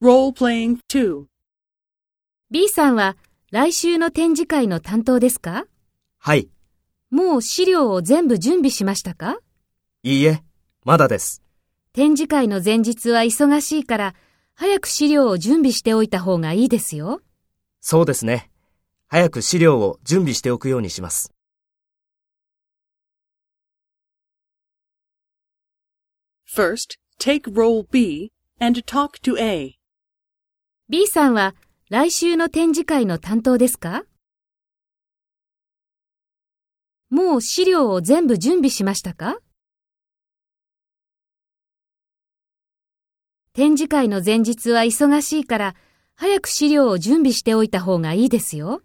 Role-playing 2. B さんは来週の展示会の担当ですか？ はい。 もう資料を全部準備しましたか？ いいえ、まだです。 展示会の前日は忙しいから、早く資料を準備しておいた方がいいですよ。 そうですね。早く資料を準備しておくようにします。 First, take role B and talk to A. B さんは来週の展示会の担当ですか？もう資料を全部準備しましたか？展示会の前日は忙しいから、早く資料を準備しておいた方がいいですよ。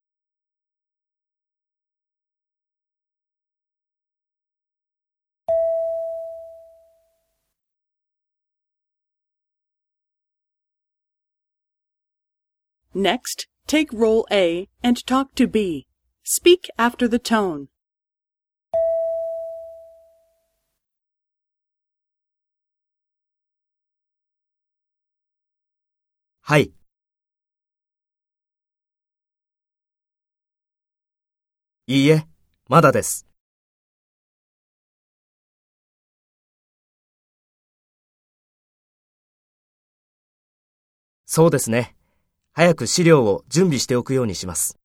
Next, take role A and talk to B. Speak after the tone. はい。いいえ、まだです。そうですね。早く資料を準備しておくようにします。